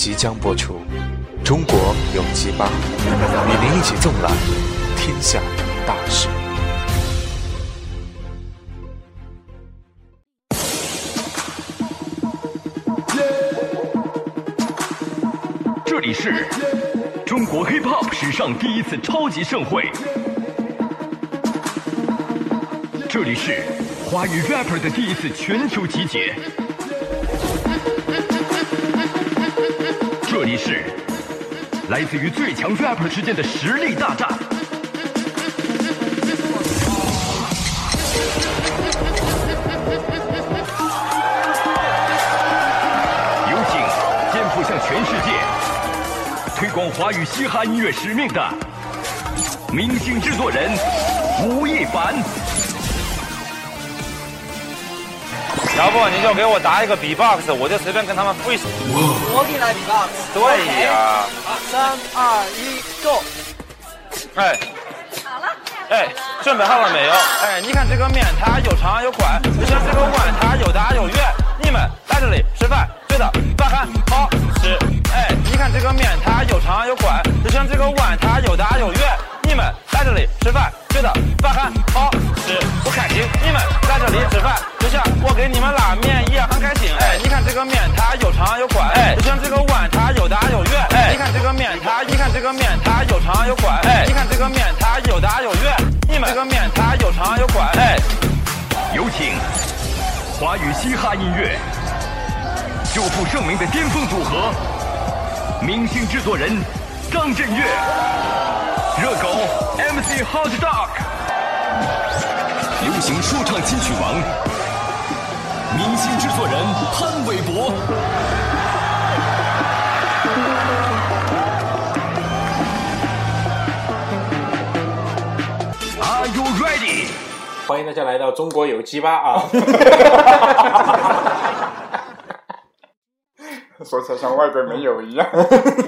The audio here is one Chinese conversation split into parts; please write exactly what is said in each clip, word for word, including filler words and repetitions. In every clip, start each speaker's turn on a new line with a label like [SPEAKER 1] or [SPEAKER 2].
[SPEAKER 1] 即将播出，中国有鸡巴，与您一起纵览天下大事。
[SPEAKER 2] 这里是中国 hip hop 史上第一次超级盛会，这里是华语 rapper 的第一次全球集结，这里是来自于最强 rapper 之间的实力大战。有请肩负向全世界推广华语嘻哈音乐使命的明星制作人吴亦凡。
[SPEAKER 3] 要不你就给我打一个 B-box， 我就随便跟他们 freestyle。
[SPEAKER 4] 我给你来 B-box。
[SPEAKER 3] 对呀。
[SPEAKER 4] 三二一 ，Go！
[SPEAKER 3] 哎。
[SPEAKER 5] 好了。
[SPEAKER 3] 哎，准备好了没有？哎，你看这个面，它又长又宽，就像这个碗，它又大又圆。你们来这里吃饭，觉得饭很好吃。哎，你看这个面，它又长又宽，就像这个碗，它又大又圆。你们来这里吃饭，觉得饭很好吃，不开心。你们来这里吃饭，就像我给你们拉面一样很开心。哎，你看这个面，它又长又宽，哎，就像这个碗，它又大又圆。哎，你看这个面，它，你看这个面，它又长又宽，哎，你看这个面，它又大又圆。你们这个面，它又长又宽，哎。
[SPEAKER 2] 有请华语嘻哈音乐久负盛名的巅峰组合，明星制作人张震岳。热狗 M C Hot Dog， 流行说唱金曲王，明星制作人潘玮柏。Are you ready？
[SPEAKER 6] 欢迎大家来到中国有鸡巴啊！说起来像外国没有一样。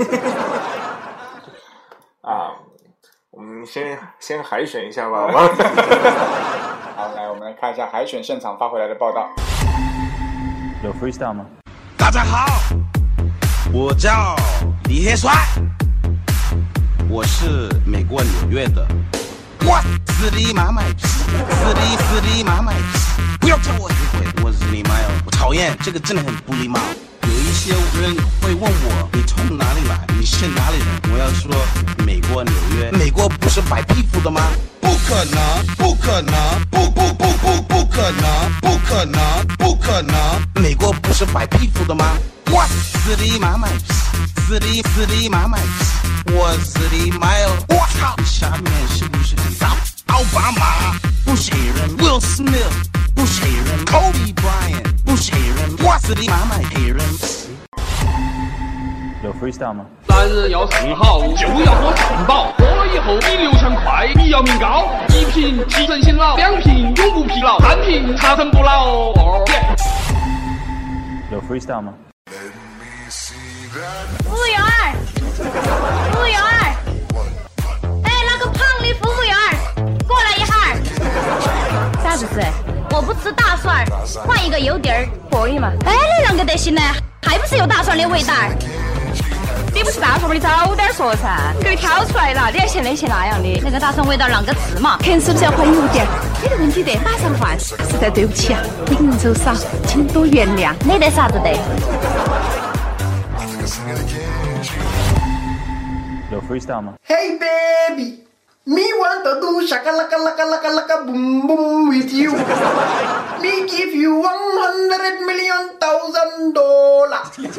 [SPEAKER 6] 啊。我们先先海选一下吧，好吧？好，来，我们来看一下海选现场发回来的报道。
[SPEAKER 3] 有 freestyle 吗？
[SPEAKER 7] 大家好，我叫李黑帅，我是美国纽约的。我是你妈卖批，是你是你妈卖批，不要叫我误会，我是你妈哟，我讨厌这个真的很不礼貌。有一些人会问我，你从哪里来？你是哪里人？我要说美国纽约。美国不是白皮肤的吗？不可能，不可能，不不不不不可能，不可能，不可能。美国不是白皮肤的吗？我是你妈卖批，是你是你妈卖批，我是你妈哟。我靠，下面是不是很骚？奥巴马不是黑人 ，Will Smith 不是黑人 ，Kobe Bryant 不是黑人，我是你妈卖黑人。
[SPEAKER 3] 有 freestyle 吗？
[SPEAKER 8] 男人要上好，就要喝上饱，喝了以后比刘强快，比姚明高。一瓶提神醒脑，两瓶永不疲劳，三瓶长生不老。哦、
[SPEAKER 3] 有 freestyle 吗？
[SPEAKER 5] 服务员儿，服务员儿，哎，那个胖的服务员儿，过来一下儿。啥子事？我不吃大蒜，换一个油碟儿，可以吗？哎，你啷个得行呢？还不是有大蒜的味道？你不是大蒜吗？你早点说噻，你给你挑出来了，你还嫌那嫌那样的。那个大蒜味道啷个吃嘛？肯是不是要换油碟？没得问题的，马上换。实在对不起啊，人手少，请多原谅。没得啥子的。
[SPEAKER 3] 有 freestyle 吗？
[SPEAKER 9] Hey baby, me want to do shaka laka laka laka laka boom boom with you. Me give you one hundred million thousand dollars.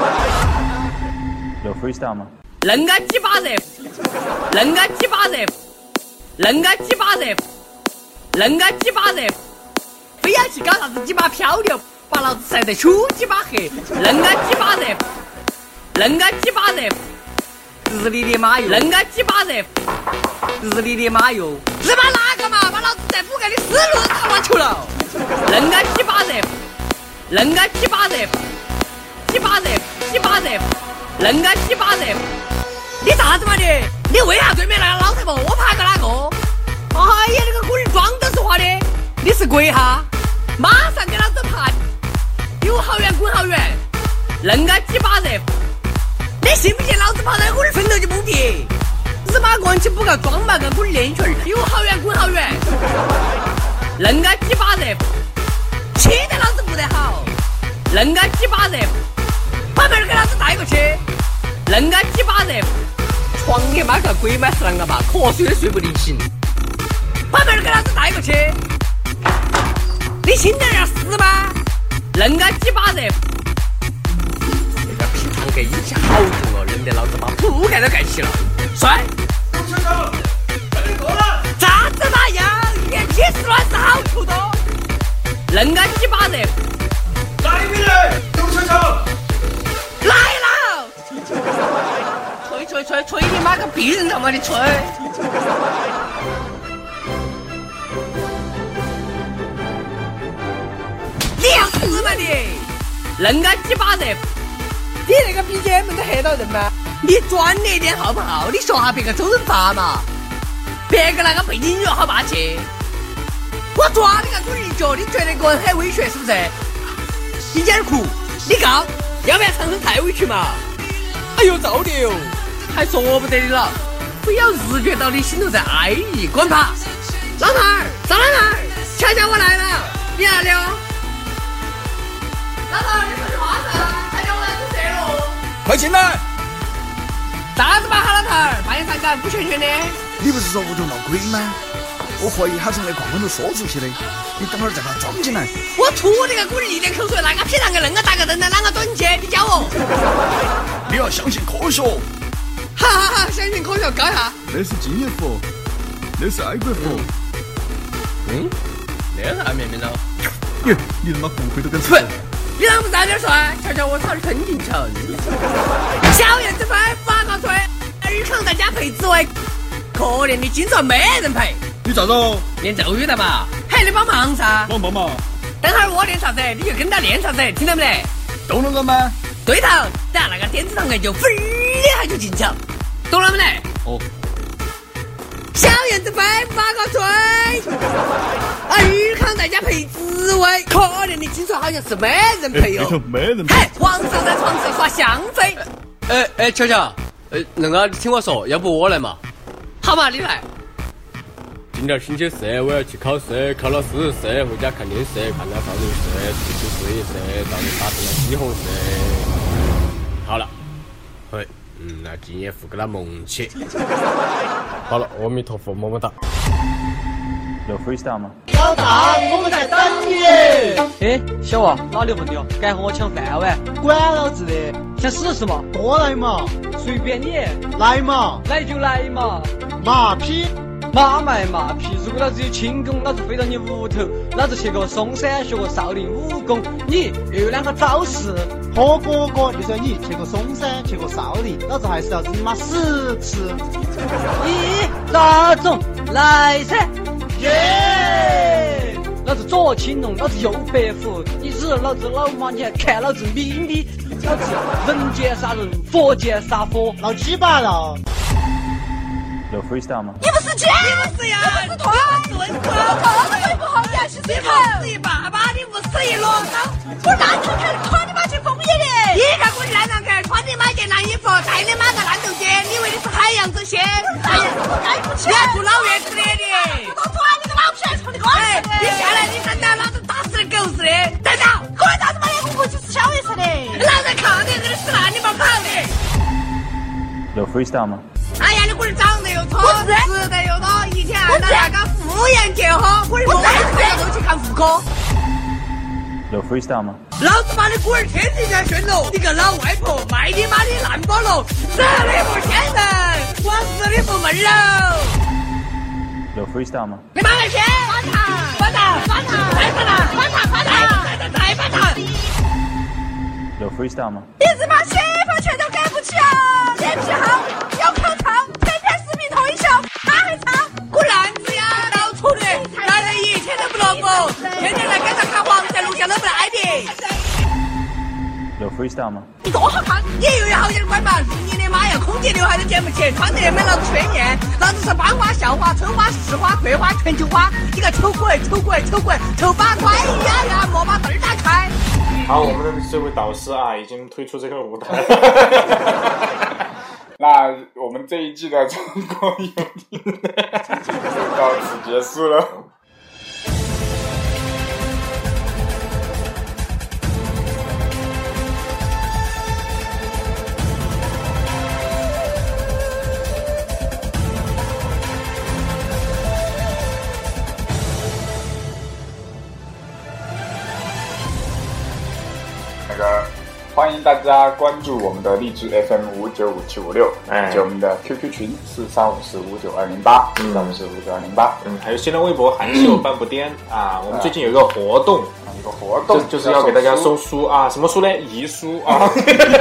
[SPEAKER 3] 有 freestyle 吗？
[SPEAKER 10] 恁个鸡巴人，恁个鸡巴人，恁个鸡巴人，恁个鸡巴人，非要去搞啥子鸡巴漂流，把老子晒得粗鸡巴黑，恁个鸡巴人，恁个鸡巴人。日你的妈哟！恁个鸡巴人，日你的妈哟！日妈哪个嘛？把老子在补给你死路都他妈球了！恁个鸡巴人，恁个鸡巴人，鸡巴人，鸡巴人，恁个鸡巴人！你啥子嘛你？你为啥对面那个老太婆？我怕个哪个？哎呀，那个鬼人装的说话的！你是鬼哈？马上给老子盘！有好远滚好远！恁个鸡巴人！ 你信不信老子跑到我的坟头就不撇？日妈光起不个装嘛个我的练群有好远滚好远，恁个几把人，气得老子不得好。恁个几把人，把门给老子带过去。恁个几把人，床你妈个鬼妈是啷个吧？瞌睡都睡不得醒。把门给老子带过去。你心点要死吧？恁个几把人。那个平常给一下好重哦，扔得老子把铺盖都盖起了。帅！
[SPEAKER 9] 董事长，快点过来！
[SPEAKER 10] 咋子那样？连起死乱是好处多。恁个几把人？
[SPEAKER 9] 来没来？董事长，
[SPEAKER 10] 来了！吹吹吹吹你妈个逼人他妈的吹！你要死嘛你！恁个几把人？你那个 B G M 都吓到人吗？你专业点好不好？你学下别个周润发嘛，别个那个背景音乐好霸气。我抓你个滚一脚，你觉得个人很威胁是不是？一点酷，你告，要不要唱声太委屈嘛？哎呦，糟的哟，还说不得的了，不要日觉到你心头在哀意，滚吧！老头儿，赵老头儿，瞧瞧我来了，你哪里哦？老头儿，你说句话噻，瞧瞧我来做这喽。
[SPEAKER 11] 快进来！
[SPEAKER 10] 啥子嘛，好老头儿，半夜三更不全全的。
[SPEAKER 11] 你不是说屋头闹鬼吗？我怀疑他从那矿坑头说出去的，你等会儿再把他装进来。
[SPEAKER 10] 我吐你个滚一点口水，那个平常个恁个大个灯的，啷个蹲去？你教我。
[SPEAKER 11] 你要相信科学。
[SPEAKER 10] 哈哈哈，相信科学，搞一下。
[SPEAKER 11] 那是金叶佛，那是爱国佛。
[SPEAKER 10] 嗯，那是啥面面了？
[SPEAKER 11] 耶，你他妈骨灰都跟
[SPEAKER 10] 吃。你啷不早点说？瞧瞧我操的吞进去。小燕子飞，发高吹，尔康在家陪紫薇，可怜的金砖没人陪。
[SPEAKER 11] 你咋着？
[SPEAKER 10] 练咒语的嘛，还得帮忙噻。
[SPEAKER 11] 帮帮忙。
[SPEAKER 10] 等会儿我练啥子，你就跟他练啥子，听到没得？
[SPEAKER 11] 懂了个吗？
[SPEAKER 10] 对头，等下那个电子糖就飞一下就进去了，懂了没得？
[SPEAKER 11] 哦。
[SPEAKER 10] 小燕子飞，发高吹，尔康在家陪紫薇，可怜的金砖好像是没人陪哟。
[SPEAKER 11] 没人陪。
[SPEAKER 10] 嘿，皇上在床上耍香妃。
[SPEAKER 12] 哎哎，乔乔，呃，那个你听我说，要不我来嘛？
[SPEAKER 10] 好嘛，你来。
[SPEAKER 12] 今天星期四我要去考试，考了四试，回家看电视，看了少林寺，出去试一试，到底打成了西红柿。好了，嘿，嗯，那敬业福给他蒙起。好了，阿弥陀佛，么么哒。
[SPEAKER 11] 有 freestyle 吗？
[SPEAKER 4] 老大，我们在等你。
[SPEAKER 13] 哎，小娃，哪里问你哦？敢和我抢饭碗？
[SPEAKER 4] 管老子的！
[SPEAKER 13] 想试试嘛？
[SPEAKER 4] 过来嘛！
[SPEAKER 13] 随便你，
[SPEAKER 4] 来嘛！
[SPEAKER 13] 来就来嘛！
[SPEAKER 4] 马屁！
[SPEAKER 13] 马卖马屁！如果老子有轻功，老子飞到你屋头，老子去过嵩山学过少林武功，你又有两个招式。
[SPEAKER 4] 何哥哥，就算你去过嵩山，去过少林，老子还是要你妈死吃！
[SPEAKER 13] 咦，大总来噻！
[SPEAKER 4] 耶！
[SPEAKER 13] 老子左青龙，老子右白虎，你日老子老妈，你还看老子咪咪？老子人见杀人，佛见杀佛，
[SPEAKER 4] 老鸡巴了！
[SPEAKER 11] 有 freestyle 吗？
[SPEAKER 10] 你不是姐，你不是呀，你不是团，你不是团，我这不好，你还是你不是一爸爸，你不是一罗刀，我哪头看穿你妈去枫叶的？你看我烂男孩，穿你妈件烂衣服，带你妈个烂豆尖，你以为你是海洋之心？哎呀，我该不起，你还住老院子里的？我都抓你个老皮，冲你哥！哎，你下来，你真的老子打死你狗似的！站长，可以打他妈的，我回去吃宵夜吃的。老子靠你这里死烂，你把跑的。
[SPEAKER 11] 有 freestyle 吗？
[SPEAKER 10] 哎呀，你龟儿长得又丑，吃得又多，一天按照那个妇炎结合，龟儿我每天都去看妇科。
[SPEAKER 11] 有 freestyle 吗？
[SPEAKER 10] 老子把你龟儿天地下炫喽！你个老外婆，卖你妈的烂菠萝，死你不先人，我死你不闷喽！
[SPEAKER 11] 有 freestyle 吗？
[SPEAKER 10] 你妈个先！翻糖，翻糖，翻糖，再翻糖，翻糖，翻糖，再再再翻糖！
[SPEAKER 11] 有 freestyle 吗？
[SPEAKER 10] 你他妈媳妇全都给不起啊！脸皮厚，有口臭，天天视频脱衣秀，他还唱，滚烂子呀！到处的，男人一天都不落伍，天天在街上看黄在录像都不挨的。
[SPEAKER 11] 有 freestyle 吗？
[SPEAKER 10] 你多好看，你又有好点管吧？你的妈呀，空姐刘海都捡不起，穿得没老子鲜艳，老子是班花、校花、春花、市花、桂花、全球花，你个丑鬼、丑鬼、丑鬼、丑八怪！哎呀呀，莫把灯儿打开！
[SPEAKER 6] 好，我们的这位导师啊，已经退出这个舞台。
[SPEAKER 14] 那我们这一季的中国有听就到此结束了。那个欢迎大家关注我们的荔枝 F M 五九五七五六，以及我们的 Q Q 群四三五四五九二零八，四三五四五九二零八，
[SPEAKER 6] 嗯，还有新浪微博韩秀半步颠啊，我们最近有一个活动，
[SPEAKER 14] 一个活动
[SPEAKER 6] 就就是要给大家送书啊，什么书呢？遗书啊，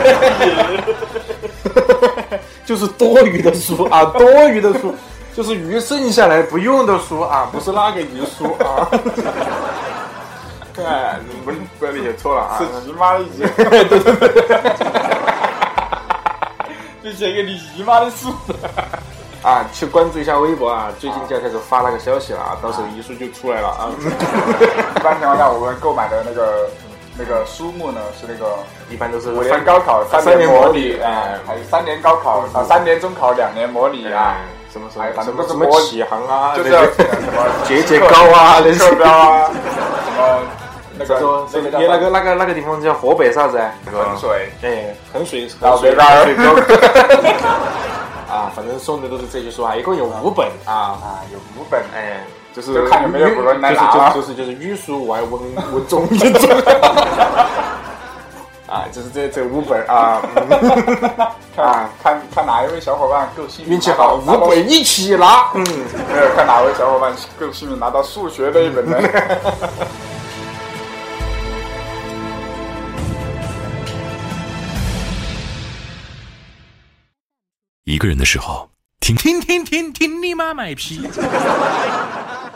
[SPEAKER 6] 就是多余的书啊，多余的书，就是余剩下来不用的书啊，不是那个遗书啊。对，你不不要理解错了啊！
[SPEAKER 14] 是姨妈的姨，
[SPEAKER 6] 对对对，
[SPEAKER 14] 就写给你姨妈的书
[SPEAKER 6] 啊！去关注一下微博啊，最近就要开始发那个消息了啊，到时候遗书就出来了啊。
[SPEAKER 14] 一般情况下，我们购买的那个那个书目呢，是那个
[SPEAKER 6] 一般都是
[SPEAKER 14] 五年高考、三年模拟，哎，还有三年高考啊，三年中考、两年模拟啊，
[SPEAKER 6] 什么什么
[SPEAKER 14] 反正
[SPEAKER 6] 什么什么启航啊，
[SPEAKER 14] 就是什么
[SPEAKER 6] 节节高啊，人
[SPEAKER 14] 课标啊，什么。那个
[SPEAKER 6] 说
[SPEAKER 14] 那个
[SPEAKER 6] 你那个那个那个地方叫河北啥子？
[SPEAKER 14] 衡水，
[SPEAKER 6] 哎，衡水，
[SPEAKER 14] 老北大
[SPEAKER 6] 啊，反正送的都是这些书啊，一共有五本啊
[SPEAKER 14] 啊，有五本，
[SPEAKER 6] 哎，就是
[SPEAKER 14] 就看有没有古人来拿
[SPEAKER 6] 啊，就是就是就是语数外文文综文综，啊，就是这这五本啊，
[SPEAKER 14] 啊，看看哪一位小伙伴够幸运，
[SPEAKER 6] 运气好，五本一起拿，嗯，
[SPEAKER 14] 没有看哪位小伙伴够幸运拿到数学那一本呢？
[SPEAKER 15] 一个人的时候，听听听听听你妈卖批。